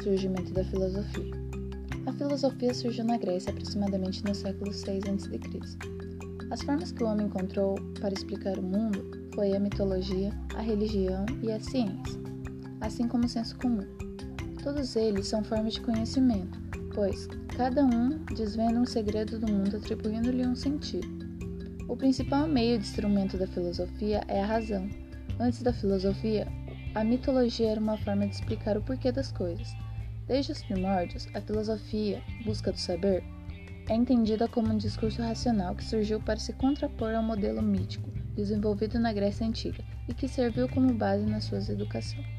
surgimento da filosofia. A filosofia surgiu na Grécia aproximadamente no século VI a.C. As formas que o homem encontrou para explicar o mundo foi a mitologia, a religião e a ciência, assim como o senso comum. Todos eles são formas de conhecimento, pois cada um desvenda um segredo do mundo atribuindo-lhe um sentido. O principal meio de instrumento da filosofia é a razão. Antes da filosofia, a mitologia era uma forma de explicar o porquê das coisas. Desde os primórdios, a filosofia, busca do saber, é entendida como um discurso racional que surgiu para se contrapor ao modelo mítico desenvolvido na Grécia Antiga e que serviu como base na sua educação.